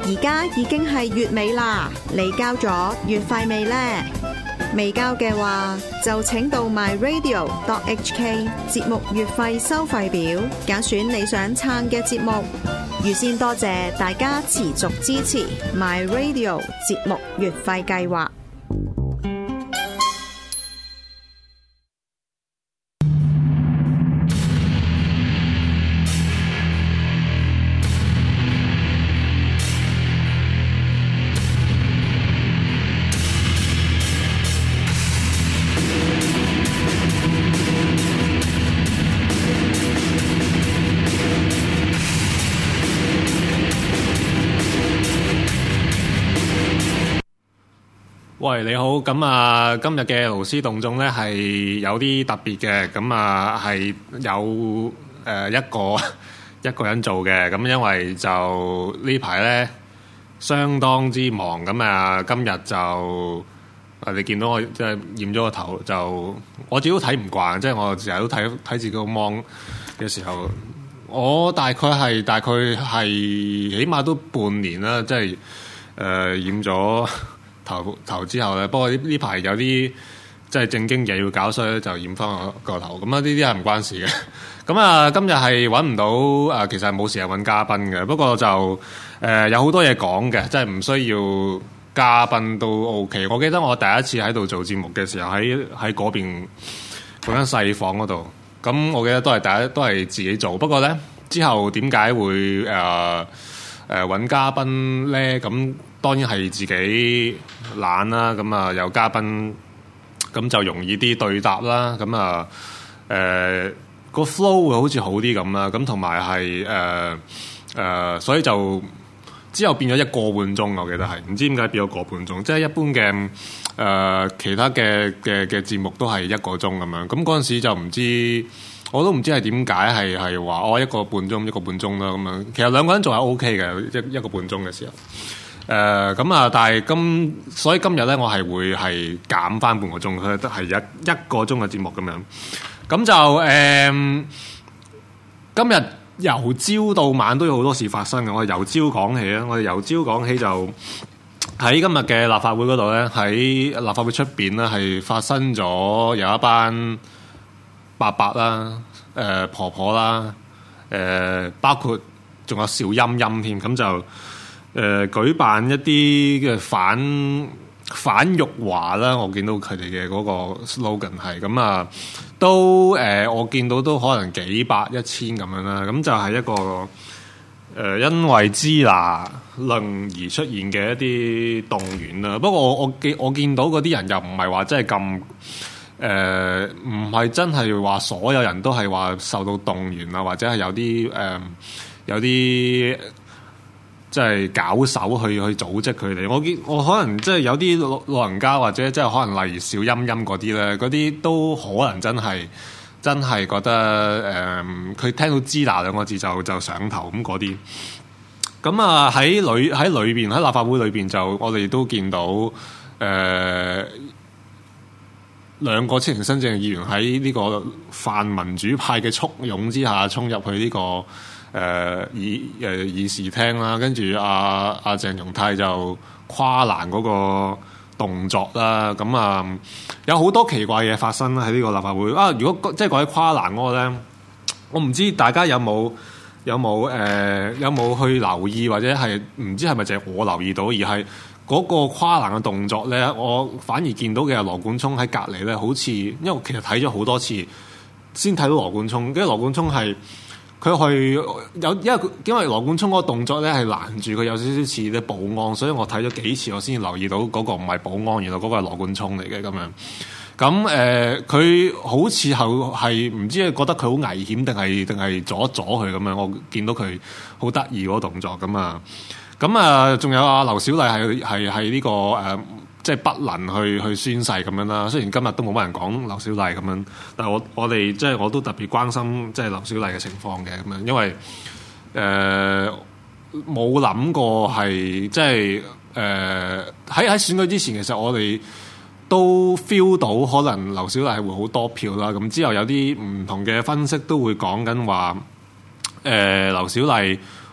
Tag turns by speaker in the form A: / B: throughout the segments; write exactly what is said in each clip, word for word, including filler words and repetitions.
A: 而家已經係月尾啦，你交咗月費未呢？未交嘅話，就請到 my radio dot h k 節目月費收費表，揀選你想撐嘅節目。預先多謝大家持續支持 my radio 節目月費計劃。
B: 喂，你好，咁啊，今日嘅勞師動眾咧係有啲特別嘅，咁啊係有誒、呃、一個一個人做嘅，咁因為就呢排咧相當之忙，咁啊今日就啊你見到我即係染咗個頭，就我自己都睇唔慣，即係我成日都睇睇自己個 mon 嘅時候，我大概係大概係起碼都半年啦，即係誒、呃、染咗頭頭之後咧，不過呢呢排有啲即係正經嘢要搞，所以就染翻我個頭。咁啊，呢啲係唔關事嘅。咁啊，今日係揾唔到啊，其實係冇時間揾嘉賓嘅。不過就誒、呃、有好多嘢講嘅，即係唔需要嘉賓都 OK。我記得我第一次喺度做節目嘅時候，喺喺嗰邊嗰間細房嗰度。咁我記得都係第一都係自己做。不過咧之後點解會誒誒揾嘉賓咧？咁當然係自己懶啦，咁啊有嘉賓咁就容易啲對答啦，咁啊誒個 flow 會好似好啲咁啦，咁同埋係誒誒，所以就之後變咗一個半鐘，我記得係唔知點解變咗個半鐘，即係一般嘅誒、呃、其他嘅嘅嘅節目都係一個鐘咁樣，咁嗰陣時就唔知。我都唔知係點解係係話我一個半鐘一個半鐘啦咁樣，其實兩個人做係 O K 嘅，一一個半鐘嘅時候，誒咁啊，但係今所以今日咧我係會係減翻半個鐘，佢都係一一個鐘嘅節目咁樣，咁就誒、呃、今日由朝到晚都有好多事發生嘅，我哋由朝講起啊，我哋由朝講起就喺今日嘅立法會嗰度咧，喺立法會出邊咧係發生咗有一班伯伯啦、誒、呃、婆婆啦、誒、呃、包括仲有小陰陰添，咁就誒、呃、舉辦一啲嘅反反辱華啦。我見到佢哋嘅嗰個 slogan 係咁啊，都誒、呃、我見到都可能幾百一千咁樣啦。咁就係一個誒、呃、因為支那論而出現嘅一啲動員啦。不過我我見我見到嗰啲人又唔係話真係咁。誒唔係真係話所有人都係話受到動員啊，或者係有啲誒、呃、有啲即係搞手去去組織佢哋。我見我可能即係有啲老人家或者即係可能例如小陰陰嗰啲咧，嗰啲都可能真係真係覺得誒佢、呃、聽到支那兩個字就就上頭咁嗰啲。咁啊喺裏喺裏邊喺立法會裏邊就我哋都見到誒。呃兩個青年新政嘅議員喺呢個泛民主派嘅簇擁之下衝入去呢、這個誒、呃、議誒、呃、議事廳啦，跟住阿阿鄭松泰就跨欄嗰個動作啦，咁啊、嗯、有好多奇怪嘢發生喺呢個立法會啊！如果即係講起跨欄嗰個咧，我唔知大家有冇有冇誒、呃、有冇去留意，或者係唔知係咪淨係我留意到，而係。嗰個跨欄嘅動作咧，我反而見到嘅係羅冠聰喺隔離咧，好似因為其實睇咗好多次先睇到羅冠聰，跟住羅冠聰係佢去有因為因為羅冠聰嗰個動作咧係攔住佢有少少似啲保安，所以我睇咗幾次我先留意到嗰個唔係保安，原來嗰個係羅冠聰嚟嘅咁樣。咁誒，佢、呃、好似係係唔知係覺得佢好危險定係定係阻一阻佢咁樣。我見到佢好得意嗰個動作咁啊！咁啊，仲有啊，劉小麗係係係呢個誒、呃，即係不能去去宣誓咁樣啦。雖然今日都冇乜人講劉小麗咁樣，但係我我哋即係我都特別關心即係劉小麗嘅情況嘅咁樣，因為誒冇諗過係即係誒喺喺選舉之前，其實我哋都 feel 到可能劉小麗係會好多票啦。咁之後有啲唔同嘅分析都會講緊話，誒劉小麗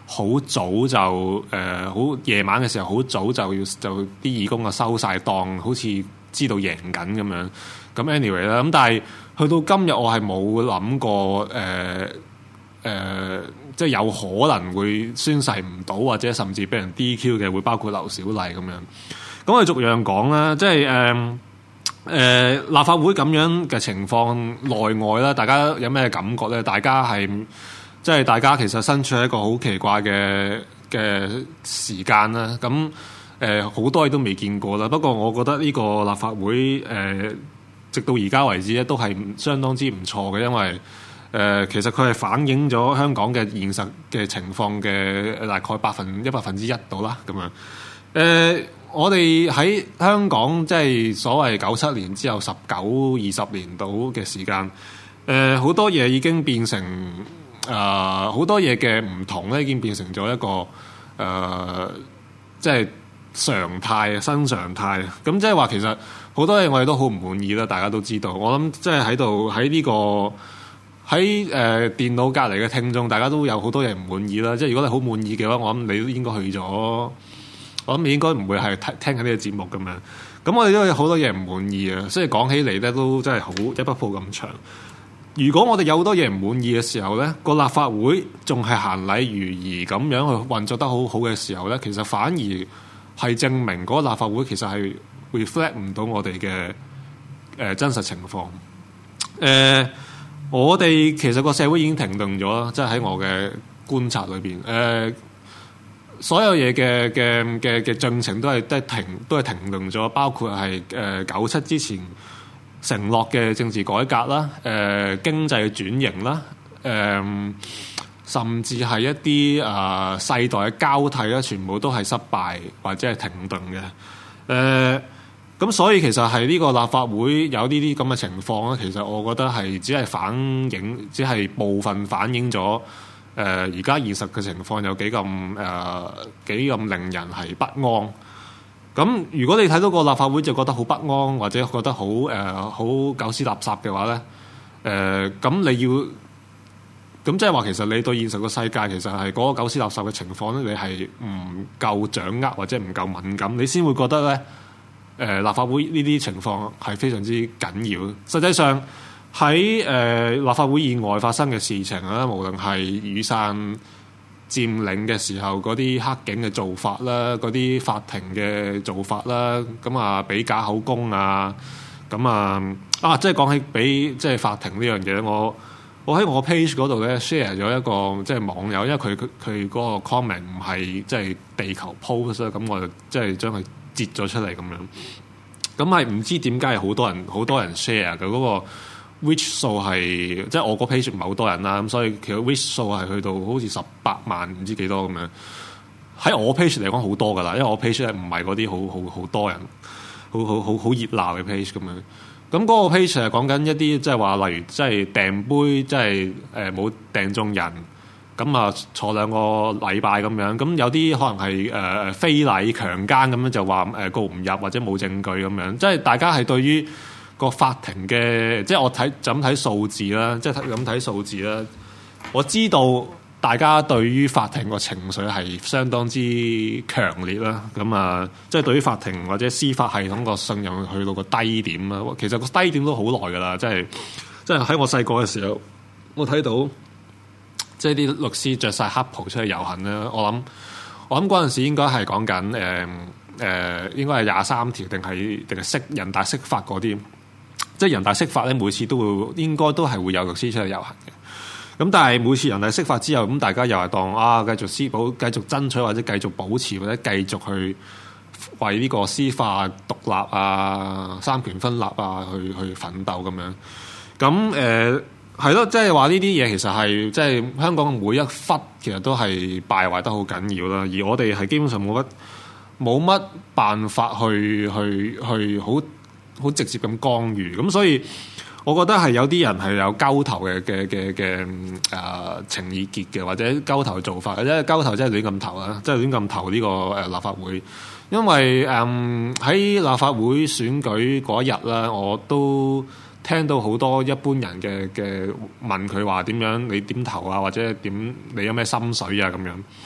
B: 好早就誒好夜晚嘅時候好早就要就啲義工啊收晒檔，好似知道贏緊咁樣。咁 anyway 啦，咁但係去到今日我係冇諗過誒誒、呃呃，即係有可能會宣誓唔到，或者甚至俾人 D Q 嘅，會包括劉小麗咁樣。咁我哋逐樣講啦，即係誒誒立法會咁樣嘅情況內外啦，大家有咩感覺咧？大家係即係大家其實身處喺一個好奇怪嘅嘅時間啦。咁誒好多嘢都未見過啦。不過我覺得呢個立法會誒、呃、直到而家為止咧，都係相當之唔錯嘅，因為誒、呃、其實佢係反映咗香港嘅現實嘅情況嘅大概百分一百分之一度啦。咁樣誒。呃我哋喺香港即係所謂九七年之後十九二十年度嘅時間，誒、呃、好多嘢已經變成誒好、呃、多嘢嘅唔同咧，已經變成咗一個誒、呃、即係常態新常態。咁即係話其實好多嘢我哋都好唔滿意啦，大家都知道。我諗即係喺度喺呢個喺誒、呃、電腦隔離嘅聽眾，大家都有好多嘢唔滿意啦。即係如果你好滿意嘅話，我諗你都應該去咗。我諗你應該唔會係聽聽緊呢個節目咁樣，咁我哋都有好多嘢唔滿意啊，所以講起嚟咧都真係好一筆鋪咁長。如果我哋有好多嘢唔滿意嘅時候咧，個立法會仲係行禮如儀咁樣去運作得好好嘅時候咧，其實反而係證明嗰個立法會其實係 reflect 唔到我哋嘅誒真實情況。誒、呃，我哋其實個社會已經停頓咗啦，即係喺我嘅觀察裏邊誒。呃所有嘢嘅嘅嘅嘅進程都係都係停都係停頓咗，包括係誒九七之前承諾嘅政治改革啦，誒、呃、經濟嘅轉型啦，誒、呃、甚至係一啲啊、呃、世代嘅交替啦，全部都係失敗或者係停頓嘅。誒、呃、咁所以其實係呢個立法會有呢啲咁嘅情況咧，其實我覺得係只係反映，只係部分反映咗。誒而家現實嘅情況有幾咁誒幾咁令人係不安。咁如果你睇到個立法會就覺得好不安，或者覺得好誒好狗屎垃圾嘅話咧，誒、呃、咁你要咁即係話其實你對現實個世界其實係嗰個狗屎垃圾嘅情況咧，你係唔夠掌握或者唔夠敏感，你先會覺得咧誒、呃、立法會呢啲情況係非常之緊要。實際上。喺誒、呃、立法會以外發生嘅事情啦，無論係雨傘佔領嘅時候嗰啲黑警嘅做法啦，嗰啲法庭嘅做法啦，咁啊俾假口供啊，咁啊啊即係講起俾即係法庭呢樣嘢，我我喺我 page 嗰度咧 share 咗一個即係網友，因為佢佢佢嗰個 comment 唔係即係地球 post，咁我就即係將佢截咗出嚟咁樣。咁係唔知點解係好多人好多人 share 嘅嗰、嗰個。which 數係即係我個 page 唔係好多人啦，咁所以其實 which 數係去到好似十八萬唔知幾多咁樣。喺我 page 嚟講好多噶啦，因為我 page 咧唔係嗰啲好好好多人，好好好好熱鬧嘅 page 咁樣。咁嗰個 page 係講緊一啲即係話，例如即係訂杯，即係誒冇訂中人，咁啊坐兩個禮拜咁樣。咁有啲可能係誒誒非禮強姦咁樣，就話誒告唔入或者冇證據咁樣。即係大家係對於個法庭嘅，即係我睇就咁睇數字啦，即係咁睇數字啦。我知道大家對於法庭個情緒係相當之強烈啦。咁啊，即係對於法庭或者司法系統個信任去到個低點啦。其實個低點都好耐㗎啦，即係即係喺我細個嘅時候，我睇到即係啲律師着晒黑袍出去遊行啦。我諗我諗嗰陣時應該係講緊誒誒，應該係廿三條定係定係釋人大釋法嗰啲。即係人大釋法咧，每次都會應該都係會有律師出去遊行嘅。咁但係每次人大釋法之後，咁大家又係當啊繼續司保、繼續爭取或者繼續保持或者繼續去為呢個司法獨立啊、三權分立啊去去奮鬥咁樣。咁誒係咯，即係話呢啲嘢其實係即係香港每一忽其實都係敗壞得好緊要啦。而我哋係基本上冇乜冇乜辦法去去去好。好直接咁干預，咁所以我覺得係有啲人係有交投嘅嘅嘅嘅誒情意結嘅，或者交投嘅做法，或者交投真係亂咁投啊，即係亂咁投呢個誒立法會。因為誒喺、嗯、立法會選舉嗰一日啦，我都聽到好多一般人嘅嘅問佢話點樣，你點投啊，或者點你有咩心水啊咁樣。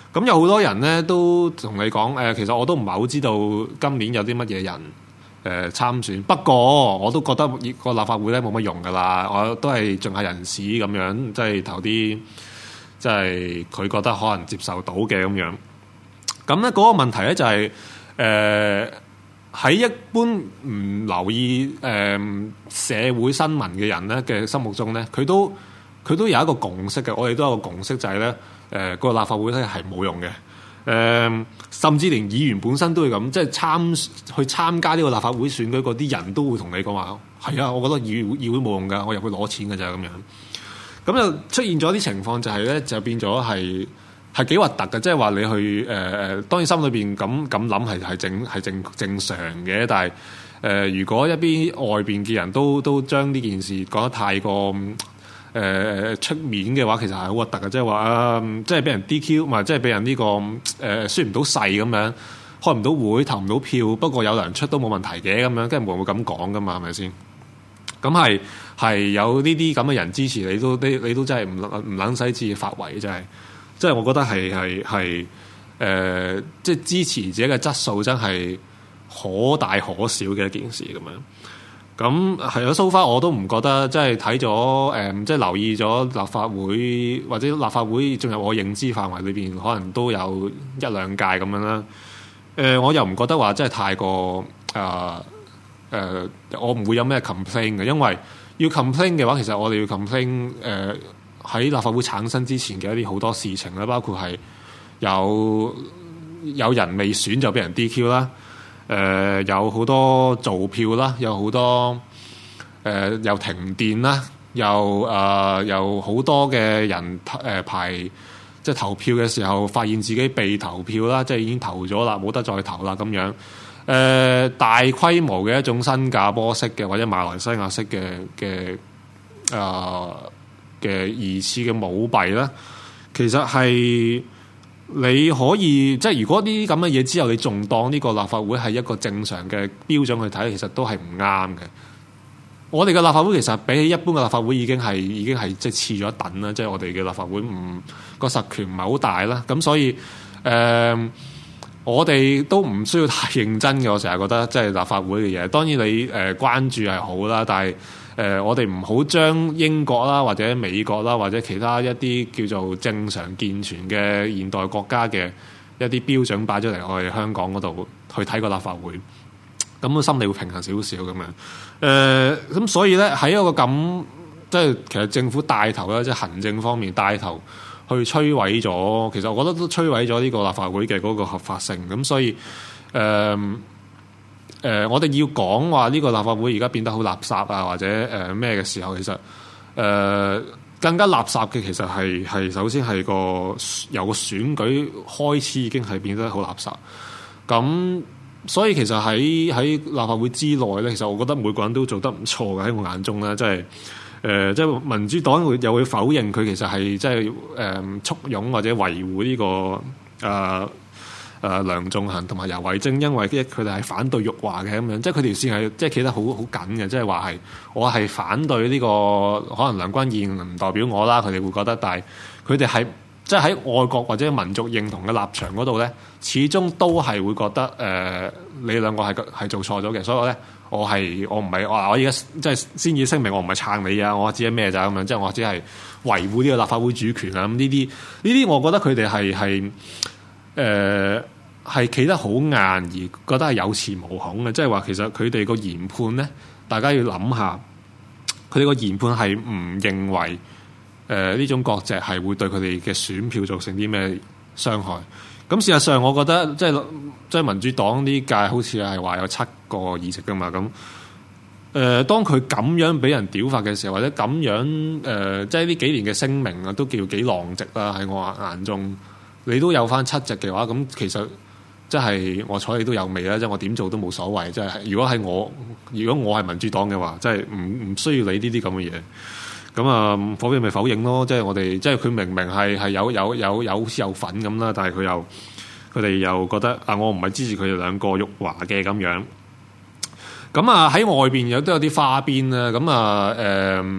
B: 咁有好多人咧都同你講誒、呃，其實我都唔係好知道今年有啲乜嘢人誒、呃、參選。不過我都覺得個立法會咧冇乜用噶啦，我都係盡下人事咁樣，即係投啲即係佢覺得可能接受到嘅咁樣。咁咧嗰個問題咧就係誒喺一般唔留意誒、呃、社會新聞嘅人咧嘅心目中咧，佢都佢都有一個共識嘅。我哋都有一個共識就係咧。誒、呃個立法會咧係冇用嘅，誒、呃、甚至連議員本身都會咁，即係參去參加呢個立法會選舉嗰啲人都會同你講話，係啊，我覺得議會議會冇用㗎，我入去攞錢㗎咋咁樣。咁就出現咗啲情況就係咧，就變咗係係幾核突嘅，即係話你去誒誒、呃，當然心裏邊咁咁諗係係正係正正常嘅，但係誒、呃、如果一邊外邊嘅人都都將呢件事講得太過。誒、呃、出面嘅話，其實係好核突嘅，即係話啊，即係俾人 D Q，唔係即係俾人呢、這個誒輸唔到勢咁樣，開唔到會，投唔到票，不過有糧出都冇問題嘅咁樣，跟住冇人會咁講噶嘛，係咪先？咁係係有呢啲咁嘅人支持你都，你你都真係唔唔撚使自己發圍，真係，即係我覺得係係係誒，即係支持者嘅質素真係可大可小嘅一件事咁樣。咁係啊，so far我都唔覺得，即係睇咗誒，即係留意咗立法會或者立法會進入我認知範圍裏邊，可能都有一兩屆咁樣啦。誒、呃，我又唔覺得話真係太過誒誒、呃呃，我唔會有咩 complain 嘅，因為要 complain 嘅話，其實我哋要 complain 誒喺立法會產生之前嘅一啲好多事情啦，包括係有有人未選就俾人 D Q 啦。誒、呃、有好多造票啦，有好多誒、呃、又停電啦，又誒有好多嘅人誒、呃、排即係投票嘅時候，發現自己被投票啦，即係已經投咗啦，冇得再投啦咁樣。誒、呃、大規模嘅一種新加坡式嘅或者馬來西亞式嘅嘅誒嘅疑似嘅舞弊啦，其實係。你可以即係如果呢啲咁嘅嘢之後，你仲當呢個立法會係一個正常嘅標準去睇，其實都係唔啱嘅。我哋嘅立法會其實比起一般嘅立法會已經係已經係即係次咗一等啦，即係我哋嘅立法會唔個實權唔係好大啦。咁所以誒、呃，我哋都唔需要太認真嘅。我成日覺得即係立法會嘅嘢，當然你誒、呃、關注係好啦，但係。誒、呃，我哋唔好將英國啦，或者美國啦，或者其他一啲叫做正常健全嘅現代國家嘅一啲標準擺咗嚟我哋香港嗰度去睇個立法會，咁個心理會平衡少少咁樣。誒、呃，咁所以咧喺一個咁即係其實政府帶頭啦，即係行政方面帶頭去摧毀咗，其實我覺得都摧毀咗呢個立法會嘅嗰個合法性。咁所以誒。呃誒、呃，我哋要講話呢個立法會而家變得好垃圾啊，或者誒咩嘅時候，其實誒、呃、更加垃圾嘅其實係係首先係個由個選舉開始已經係變得好垃圾。咁所以其實喺喺立法會之內咧，其實我覺得每個人都做得唔錯嘅，喺我眼中咧，即係誒即係民主黨會又會否認佢其實係即係誒簇擁或者維護呢、這個誒。呃誒、呃、梁頌恆同埋游蕙禎，因為佢哋係反對辱華嘅咁樣，即係佢條線係即係企得好好緊嘅，即係話係我係反對呢、這個可能梁君彥唔代表我啦，佢哋會覺得，但係佢哋係即係喺愛國或者民族認同嘅立場嗰度咧，始終都係會覺得誒、呃、你兩個係係做錯咗嘅，所以咧我係我唔係我我而家即係先至聲明，我唔係撐你啊，我知係咩咋咁樣，即係我只係維護呢個立法會主權啊，咁呢啲呢啲，我覺得佢哋係係。誒係企得好硬，而覺得係有恃無恐嘅，即係話其實佢哋個研判咧，大家要諗下，佢哋個研判係唔認為誒呢、呃、種割席係會對佢哋嘅選票造成啲咩傷害。咁事實上，我覺得即係即係民主黨呢屆好似係話有七個議席㗎嘛。咁誒、呃，當佢咁樣俾人屌法嘅時候，或者咁樣誒、呃，即係呢幾年嘅聲明啊，都叫幾狼藉啦喺我眼中。你都有翻七席嘅話，咁其實即係我睬你都有味啦，即係我點做都冇所謂。即係如果係我，如果我係民主黨嘅話，即係唔唔需要理呢啲咁嘅嘢。咁啊，否認咪否認咯。即係我哋，即係佢明明係係有有有有好似有份咁啦，但係佢又佢哋又覺得啊，我唔係支持佢哋兩個辱華嘅咁樣。咁啊喺外邊有都有啲花邊啦。咁啊誒。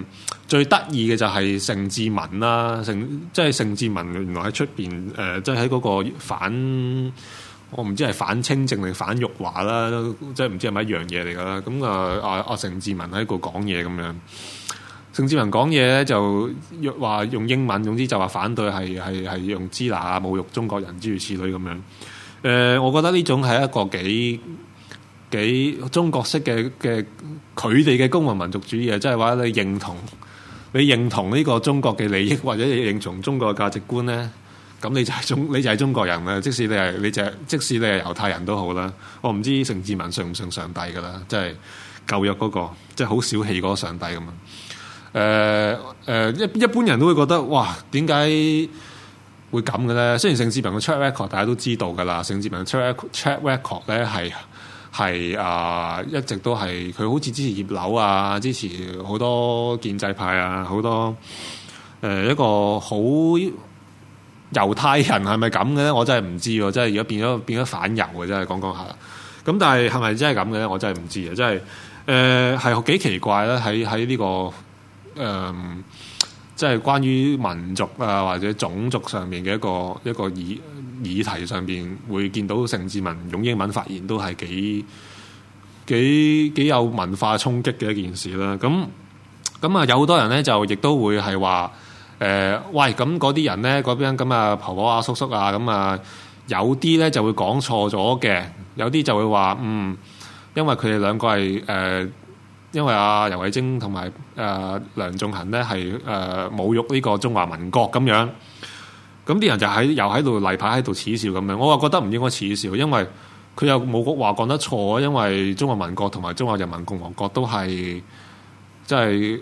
B: 最得意嘅就係盛智文啦，盛即係盛智文原來喺出邊誒，即係喺嗰個反，我唔知係反清正定反辱華啦，即係唔知係咪一樣嘢嚟㗎啦。咁啊啊啊盛智文喺度講嘢咁樣，盛智文講嘢咧就話用英文，總之就話反對係係係用支那啊侮辱中國人諸如此類咁樣。誒、呃，我覺得呢種係一個幾幾中國式嘅嘅佢哋嘅公民民族主義啊，即係話你認同。你認同呢個中國嘅利益，或者你認同中國嘅價值觀咧，咁你就係中你就係中國人啦。即使你係你就係即使你係猶太人都好啦。我唔知盛智文信唔信上帝㗎啦，即係舊約嗰個，即係好小氣嗰個上帝咁啊。誒誒一一般人都會覺得哇，點解會咁嘅咧？雖然盛智文嘅 track record 大家都知道㗎啦，盛智文嘅 track track record 咧係。係啊，一直都係佢好似支持葉劉啊，支持好多建制派啊，好多誒、呃、一個好猶太人係咪咁嘅咧？我真係唔知喎，真係而家變咗變咗反猶嘅，真係講講下。咁但係係咪真係咁嘅咧？我真係唔知啊！真係誒係幾奇怪咧，喺喺呢個誒。呃即係關於民族啊或者種族上面嘅一個一個議議題上邊，會見到盛智文用英文發言都係幾幾幾有文化衝擊嘅一件事啦。咁咁啊，有好多人咧就亦都會係話誒，喂，咁嗰啲人咧嗰邊咁啊婆婆啊叔叔啊咁啊，有啲咧就會講錯咗嘅，有啲就會話嗯，因為佢哋兩個係誒。呃因為阿游蕙禎同埋誒梁頌恆咧係誒侮辱呢個中華民國咁樣，咁啲人就喺又喺度例牌喺度恥笑咁樣。我話覺得唔應該恥笑，因為佢又冇話講得錯，因為中華民國同埋中華人民共和國都係即係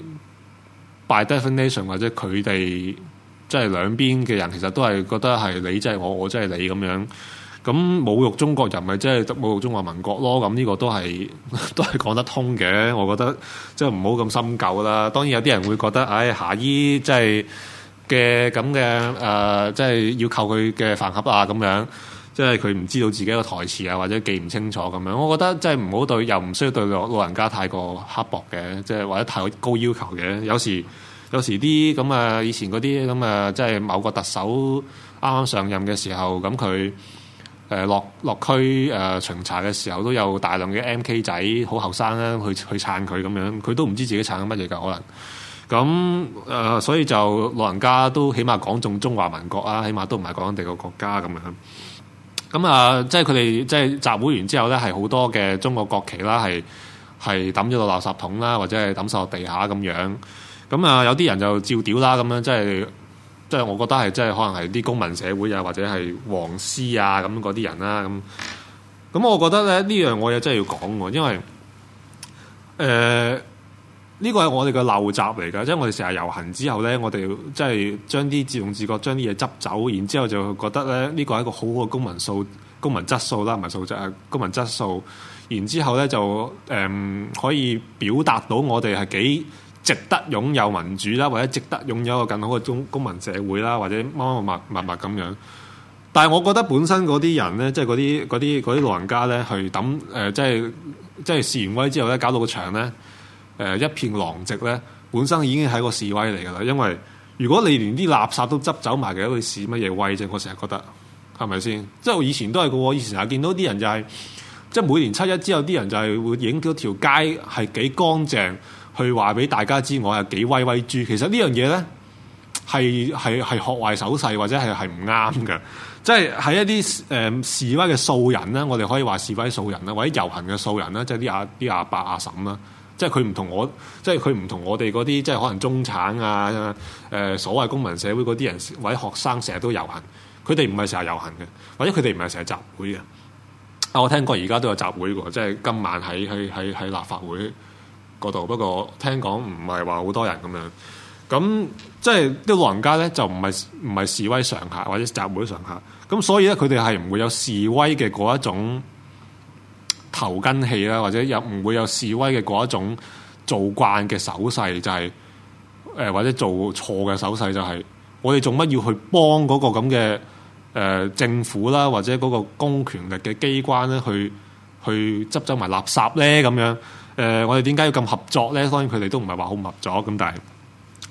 B: by definition 或者佢哋即係兩邊嘅人，其實都係覺得係你即係我，我即係你咁樣。咁侮辱中國人咪即係侮辱中華民國咯？咁呢個都係都係講得通嘅。我覺得即係唔好咁深究啦。當然有啲人會覺得，唉、哎，夏依即係嘅咁嘅誒，即係要扣佢嘅飯盒啊咁樣，即係佢唔知道自己個台詞啊，或者記唔清楚咁樣。我覺得即係唔好對，又唔需要對老老人家太過刻薄嘅，即係或者太高要求嘅。有時有時啲咁啊，以前嗰啲咁啊，即係某個特首啱啱上任嘅時候，咁佢。誒落落區誒、呃、巡查嘅時候，都有大量嘅 M K 仔好後生啦，去去撐佢咁樣，佢都唔知自己撐緊乜嘢㗎可能。咁誒、呃，所以就老人家都起碼講中中華民國啊，起碼都唔係講緊第個國家咁樣。咁啊、呃，即係佢哋即係集會完之後咧，係好多嘅中國國旗啦，係係抌咗落垃圾桶啦，或者係抌晒落地下咁樣。咁啊、呃，有啲人就照屌啦，咁樣即係。即係我覺得係，即係可能係啲公民社會啊，或者係黃絲啊咁嗰啲人啦，咁咁我覺得咧呢樣我又真係要講喎，因為誒呢、呃呢個係我哋嘅陋習嚟㗎，即係我哋成日遊行之後咧，我哋即係將啲自動自覺將啲嘢執走，然之後就覺得咧呢個係一個好好嘅公民素公民質素啦，唔係素質啊，公民質素，然之後咧就誒、呃、可以表達到我哋係幾值得擁有民主啦，或者值得擁有一個更好嘅公公民社會啦，或者乜乜物物物咁樣。但係我覺得本身嗰啲人咧，即係嗰啲嗰啲嗰啲老人家咧，去抌誒、呃，即係即係示完威之後咧，搞到個場咧誒、呃、一片狼藉咧，本身已經係個示威嚟㗎啦。因為如果你連啲垃圾都執走埋嘅，會示乜嘢威啫？我成日覺得係咪先？即係我以前都係個喎，以前成日見到啲人就係、是、即係每年七一之後，啲人就係會影到條街係幾乾淨。去話俾大家知我係幾威威豬，其實呢樣嘢咧係係係學壞手勢或者係係唔啱嘅，即係喺一啲誒、呃、示威嘅素人咧，我哋可以話示威素人啦，或者遊行嘅素人啦，即係啲阿啲阿伯阿嬸啦，即係佢唔同我，即係佢唔同我哋嗰啲，即係可能中產啊誒、呃、所謂公民社會嗰啲人或者學生成日都遊行，佢哋唔係成日遊行嘅，或者佢哋唔係成日集會嘅。啊，我聽過而家都有集會喎，即係今晚喺喺喺喺立法會嗰度，不過聽講唔係話好多人咁樣，咁即係啲老人家咧就唔係唔係示威常客或者集會常客，咁所以咧佢哋係唔會有示威嘅嗰一種頭巾氣啦，或者有唔會有示威嘅嗰一種做慣嘅手勢，就係、是、誒、呃、或者做錯嘅手勢，就係我哋做乜要去幫嗰個咁嘅誒政府啦，或者嗰個公權力嘅機關咧去去執走埋垃圾咧咁樣。誒、呃，我哋點解要咁合作咧？當然佢哋都唔係話好唔合作咁，但係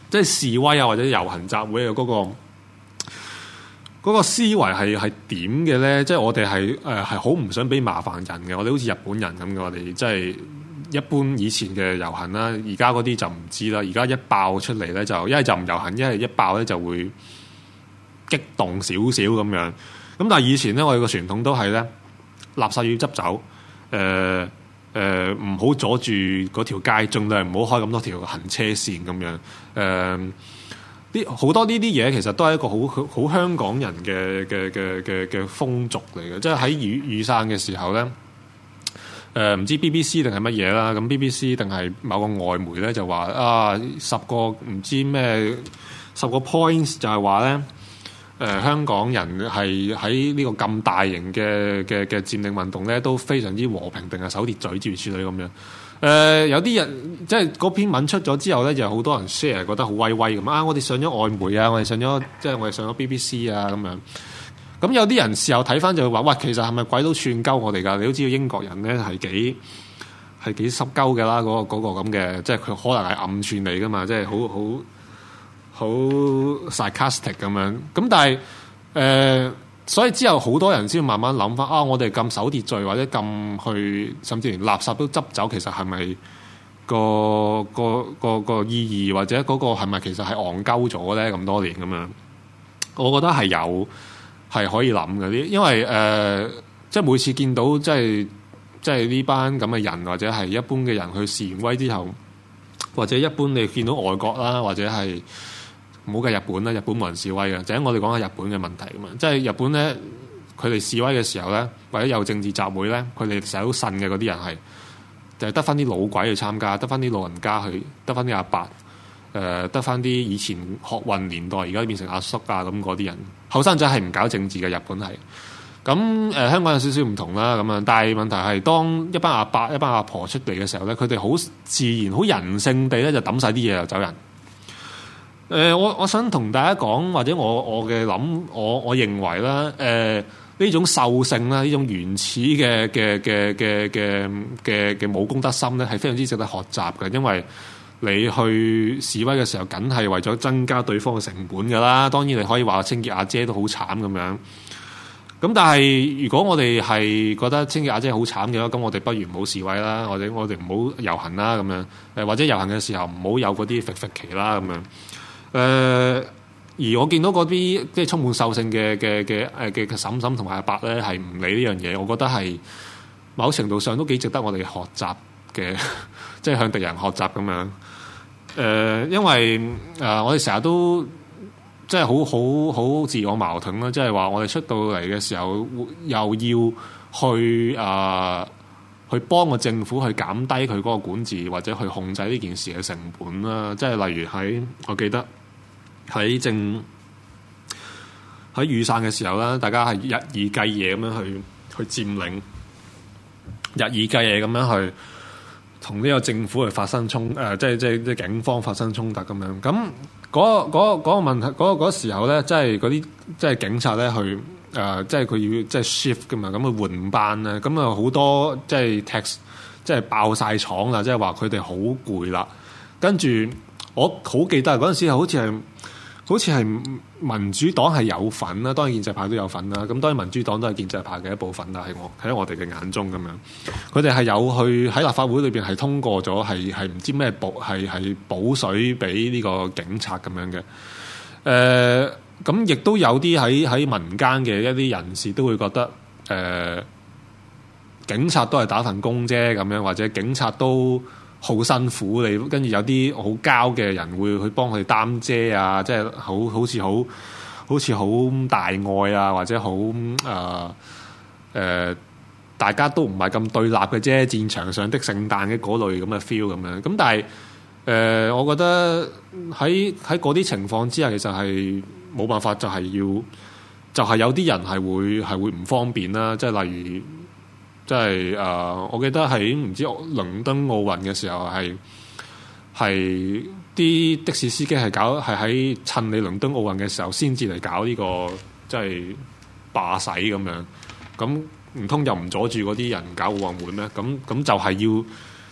B: 即係示威啊或者遊行集會嘅嗰、嗰個。嗰個思維係係點嘅咧？即係我哋係誒係好唔想俾麻煩人嘅。我哋好似日本人咁嘅，我哋即係一般以前嘅遊行啦。而家嗰啲就唔知啦。而家一爆出嚟咧，就一係就唔遊行，一係一爆咧就會激動少少咁樣。咁但係以前咧，我哋個傳統都係咧，垃圾要執走，誒誒唔好阻住嗰條街，盡量唔好開咁多條行車線咁樣誒。呃啲好多呢啲嘢其實都係一個好好香港人嘅嘅嘅嘅嘅風俗嚟嘅，即係喺雨雨傘嘅時候咧，誒、呃、唔知 B B C 定係乜嘢啦，咁 B B C 定係某個外媒咧就話啊十個唔知咩十個 points 就係話咧，誒、呃、香港人係喺呢個咁大型嘅嘅嘅佔領運動咧都非常之和平，定係守秩序諸如此類咁樣。誒、呃、有啲人即係嗰篇文出咗之後咧，就好多人 share 覺得好威威咁啊！我哋上咗外媒啊，我哋上咗即係我哋上咗 B B C 啊咁樣。咁有啲人事後睇翻就會話：喂，其實係咪鬼佬串鳩我哋㗎？你都知道英國人咧係幾係幾濕鳩嘅啦，嗰、嗰個嗰個咁嘅，即係佢可能係暗串你㗎嘛，即係好好好 sarcastic 咁樣。咁但係誒。呃所以之後好多人先慢慢諗翻啊！我哋咁守秩序或者咁去，甚至連垃圾都執走，其實係咪個個個個意義或者嗰個係咪其實係戇鳩咗咧？咁多年咁樣，我覺得係有係可以諗嘅啲，因為誒、呃，即係每次見到即係即係呢班咁嘅人，或者係一般嘅人去示完威之後，或者一般你見到外國啦，或者係。唔好計日本啦，日本冇人示威嘅，就係我哋講下日本嘅問題啊嘛。即係日本咧，佢哋示威嘅時候咧，或者有政治集會咧，佢哋成日都呻嘅嗰啲人係，就係得翻啲老鬼去參加，得翻啲老人家去，得翻啲阿伯，誒得翻啲以前學運年代而家變成阿叔啊咁嗰啲人，後生仔係唔搞政治嘅，日本係。咁誒、呃、香港有少少唔同啦，咁樣，但係問題係當一班阿伯、一班阿婆出嚟嘅時候咧，佢哋好自然、好人性地咧就抌晒啲嘢就走人。誒、呃，我我想同大家講，或者我我嘅諗，我我認為啦，誒、呃、呢種獸性啦，呢種原始嘅嘅嘅嘅嘅嘅嘅武功德心咧，係非常之值得學習嘅。因為你去示威嘅時候，梗係為咗增加對方嘅成本㗎啦。當然你可以話清潔阿姐都好慘咁樣。咁但係如果我哋係覺得清潔阿姐好慘嘅話，咁我哋不如唔好示威啦，或者我哋唔好遊行啦咁樣。誒或者遊行嘅時候唔好有嗰啲揈揈旗啦咁樣。誒、呃，而我見到嗰啲即係充滿獸性嘅嘅嘅誒嘅嬸嬸同埋阿伯咧，係唔理呢樣嘢，我覺得係某程度上都幾值得我哋學習嘅，即係向敵人學習咁樣。誒、呃，因為誒、呃、我哋成日都即係好好好自我矛盾啦，即係話我哋出到嚟嘅時候，又要去啊、呃、去幫個政府去減低佢嗰個管治，或者去控制呢件事嘅成本啦。即係例如喺我記得。喺正喺雨傘嘅時候啦，大家係日以繼夜咁樣去去佔領，日以繼夜咁樣去同呢個政府去發生衝誒、呃，即係即係即係警方發生衝突咁樣。咁嗰嗰嗰個問題，嗰、嗰個嗰個時候咧，即係嗰啲即係警察咧去誒、呃，即係佢要即係 shift 噶嘛，咁去換班咧，咁啊好多即係 tax 即係爆晒廠啦，即係話佢哋好攰啦。跟住我好記得嗰陣時，好似係。好似係民主黨係有份啦，當然建制派都有份啦。咁當然民主黨都係建制派嘅一部分啦，喺我喺我哋嘅眼中咁樣。佢哋係有去喺立法會裏邊係通過咗，係係唔知咩補係係補水俾呢個警察咁樣嘅。誒、呃，咁亦都有啲喺喺民間嘅一啲人士都會覺得，誒、呃，警察都係打份工啫咁樣，或者警察都好辛苦，你跟住有啲好膠嘅人會去幫佢哋擔遮啊，即係好好似好好似好大愛啊，或者好誒誒，大家都唔係咁對立嘅啫，戰場上的聖誕嘅嗰類咁嘅 feel 咁樣。咁但係誒、呃，我覺得喺喺嗰啲情況之下，其實係冇辦法，就係要就係、是、有啲人係會係會唔方便啦，即係例如。即係誒、呃，我記得喺唔知倫敦奧運嘅時候，係係啲的士司機係搞係喺趁你倫敦奧運嘅時候先至嚟搞呢、這個即係罷駛咁樣。咁唔通又唔阻住嗰啲人搞奧運會咩？咁咁就係要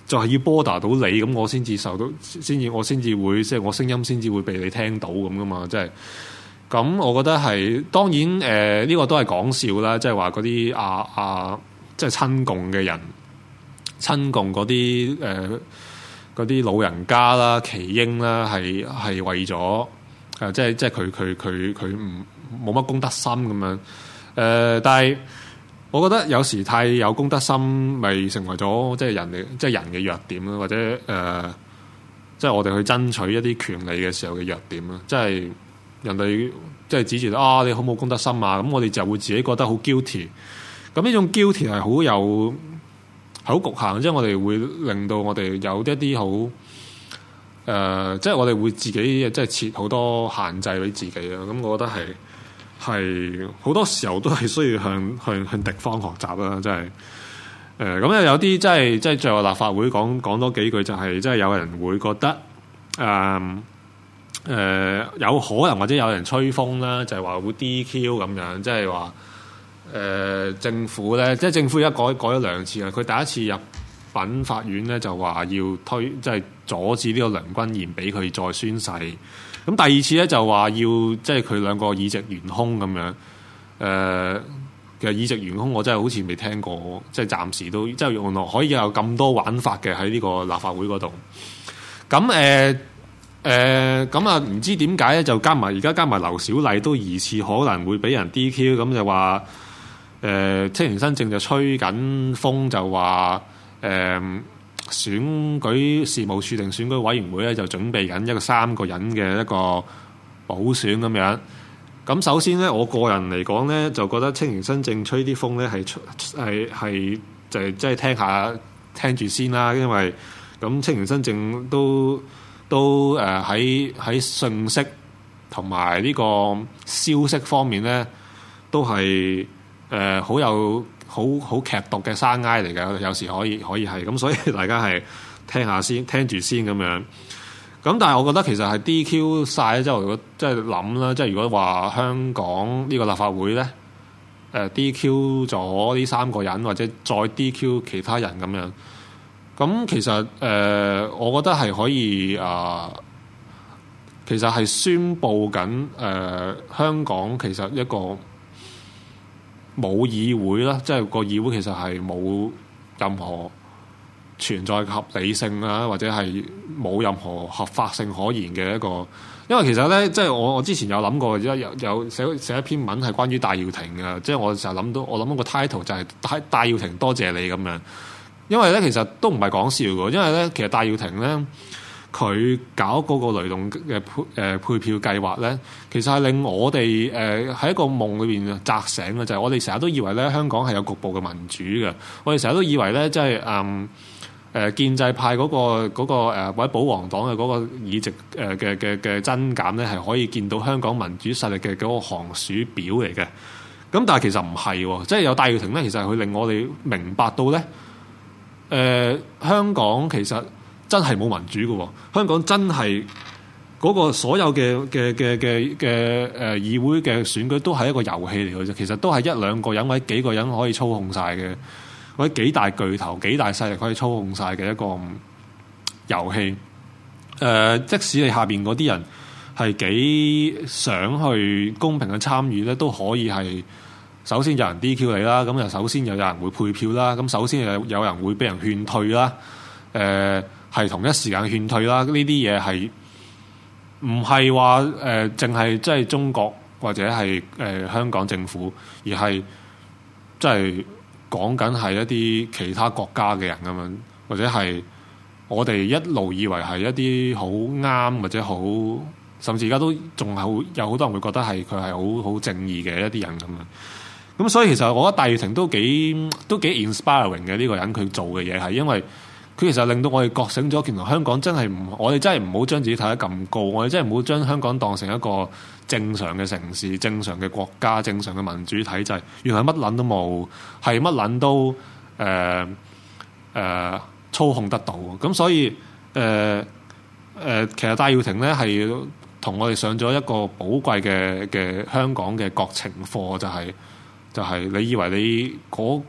B: 就係要 border 到你，咁我先至受到，先至我先至會即係我聲音先至會被你聽到咁噶嘛，即係咁，我覺得係當然誒呢、呃這個都係講笑啦，即係話嗰啲啊啊即係親共嘅人，親共嗰啲誒嗰啲老人家啦、耆英啦，係係為咗誒、呃、即係即係佢佢佢佢唔冇乜公德心咁樣誒、呃，但係。我覺得有時太有公德心，咪成為咗即係人嘅即係人嘅弱點啦，或者誒、呃，即係我哋去爭取一啲權利嘅時候嘅弱點啦。即係人哋即係指住啊，你好冇公德心啊，咁我哋就會自己覺得好 guilty。咁呢種 guilty 係好有好局限，即係我哋會令到我哋有一啲好誒，即係我哋會自己即係設好多限制俾自己啦。咁我覺得係。係好多時候都係需要向向向敵方學習啦，即係誒咁有啲即係即係最後立法會講講多幾句，就係即係有人會覺得誒誒、呃呃、有可能或者有人吹風啦，就係、是、話會 D Q 咁樣，即係話誒政府咧，即係政府而家改改咗兩次啦，佢第一次入稟法院咧就話要推即係阻止呢個梁君彥俾佢再宣誓。咁第二次咧就話要即係佢兩個議席懸空咁樣，誒、呃、其實議席懸空我真係好似未聽過，即係暫時都即係原來可以有咁多玩法嘅喺呢個立法會嗰度。咁誒誒咁啊唔知點解咧就加埋而家加埋劉小麗都疑似可能會俾人 D Q， 咁就話誒青年新政就吹緊風就話誒。呃選舉事務處定選舉委員會咧就準備緊一個三個人嘅一個補選咁樣。咁首先咧，我個人嚟講咧，就覺得青年新政吹啲風咧係係係就係即係聽下聽住先啦。因為咁青年新政都都誒喺喺信息同埋呢個消息方面咧，都係誒好有。好好劇毒嘅生挨嚟嘅，有時可以可以係咁，所以大家係聽下先，聽住先咁樣。咁但係我覺得其實係 D Q 晒咧，即係如果即係諗啦，即係如果話香港呢個立法會咧，誒 D Q 咗呢三個人，或者再 D Q 其他人咁樣，咁其實誒、呃，我覺得係可以啊、呃，其實係宣佈緊誒、呃、香港其實一個。冇議會啦，即係個議會其實係冇任何存在嘅合理性啊，或者係冇任何合法性可言嘅一個。因為其實咧，即係我我之前有諗過，有有寫寫一篇文係關於戴耀廷嘅，即係我成日諗到，我諗個 title 就係戴戴耀廷多謝你咁樣。因為咧，其實都唔係講笑嘅，因為咧，其實戴耀廷咧。佢搞嗰個雷動嘅配誒配票計劃咧，其實係令我哋誒喺一個夢裏邊扎醒嘅，就係、是、我哋成日都以為咧香港係有局部嘅民主嘅，我哋成日都以為咧即係誒誒建制派嗰、那個嗰、那個、呃、或者保皇黨嘅嗰個議席誒嘅嘅嘅增減咧，係可以見到香港民主實力嘅嗰個寒暑表嚟嘅。咁但係其實唔係喎，即係有戴耀廷咧，其實係佢令我哋明白到咧，誒、呃、香港其實。真係冇民主嘅喎，香港真係嗰個所有嘅嘅嘅嘅嘅誒議會嘅選舉都係一個遊戲嚟嘅啫，其實都係一兩個人或者幾個人可以操控晒嘅，或者幾大巨頭、幾大勢力可以操控晒嘅一個遊戲。誒、呃，即使你下邊嗰啲人係幾想去公平嘅參與咧，都可以係首先有人 D Q 你啦，咁又首先又有人會配票啦，咁首先又有人會俾人勸退啦，誒、呃。係同一時間勸退啦，呢啲嘢係唔係話誒，淨係即係中國或者係誒、呃、香港政府，而係即係講緊係一啲其他國家嘅人咁樣，或者係我哋一路以為係一啲好啱或者好，甚至而家都仲係好有好多人會覺得係佢係好好正義嘅一啲人咁樣。咁所以其實我覺得戴耀廷都幾都幾 inspiring 嘅呢個人，佢做嘅嘢係因為。佢其實令到我哋覺醒咗，原來香港真係唔，我哋真係唔好將自己睇得咁高，我哋真係唔好將香港當成一個正常嘅城市、正常嘅國家、正常嘅民主體制。原來乜撚都冇，係乜撚都誒誒、呃呃、操控得到。咁所以誒誒、呃呃，其實戴耀廷咧係同我哋上咗一個寶貴嘅嘅香港嘅國情課，就係、是、就係、是、你以為你嗰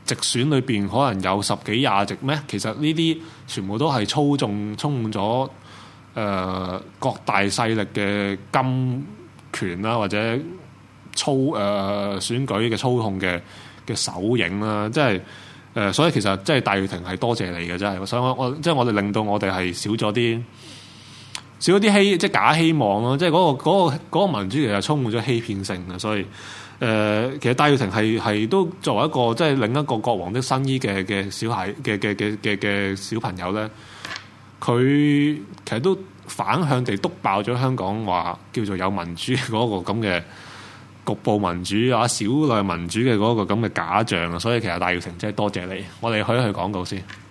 B: 直選裏邊可能有十幾廿席咩？其實呢啲全部都係操縱充滿咗誒、呃、各大勢力嘅金權啦，或者操誒、呃、選舉嘅操控嘅嘅手影啦，即係誒、呃，所以其實即係戴耀廷係多謝你嘅，真係。所以我我即係我哋令到我哋係少咗啲少咗啲希即係假希望咯，即係嗰、嗰個嗰、嗰個嗰個民主其實充滿咗欺騙性嘅，所以。誒、呃，其實戴耀廷係係都作為一個即係另一個國王的新衣嘅嘅小孩嘅嘅嘅嘅嘅小朋友咧，佢其實都反向地篤爆咗香港話叫做有民主嗰個咁嘅局部民主啊、少量民主嘅嗰個咁嘅假象啊，所以其實戴耀廷真係多謝你，我哋去一去廣告先。